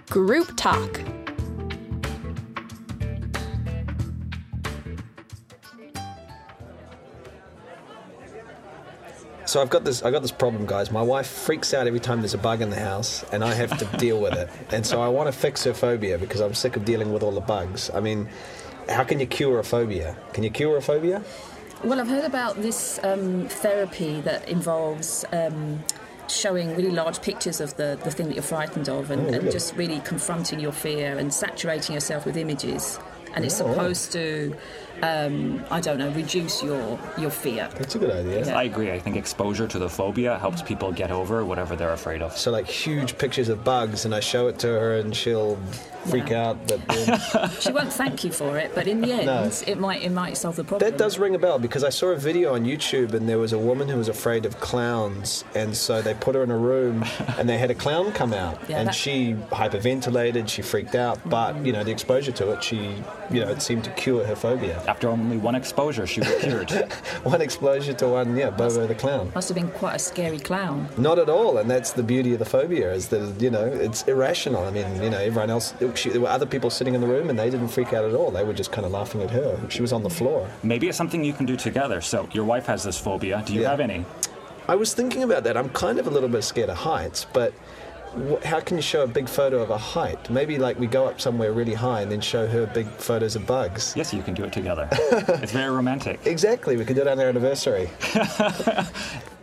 Group Talk. So I got this problem, guys. My wife freaks out every time there's a bug in the house, and I have to deal with it. And so I want to fix her phobia because I'm sick of dealing with all the bugs. I mean, how can you cure a phobia? Can you cure a phobia? Well, I've heard about this therapy that involves showing really large pictures of the thing that you're frightened of and just really confronting your fear and saturating yourself with images. And it's supposed to, reduce your fear. That's a good idea. Yeah. I agree. I think exposure to the phobia helps people get over whatever they're afraid of. So like huge pictures of bugs, and I show it to her and she'll freak out. But She won't thank you for it, but in the end, it might solve the problem. that does ring a bell, because I saw a video on YouTube and there was a woman who was afraid of clowns, and so they put her in a room and they had a clown come out, she hyperventilated, she freaked out, but the exposure to it, it seemed to cure her phobia. After only one exposure, she was cured. One exposure to one, Bobo the clown. Must have been quite a scary clown. Not at all, and that's the beauty of the phobia, is that, it's irrational. I mean, everyone else, there were other people sitting in the room and they didn't freak out at all. They were just kind of laughing at her. She was on the floor. Maybe it's something you can do together. So your wife has this phobia. Do you have any? I was thinking about that. I'm kind of a little bit scared of heights, but how can you show a big photo of a height? Maybe we go up somewhere really high and then show her big photos of bugs. Yes, you can do it together. It's very romantic. Exactly. We can do it on our anniversary.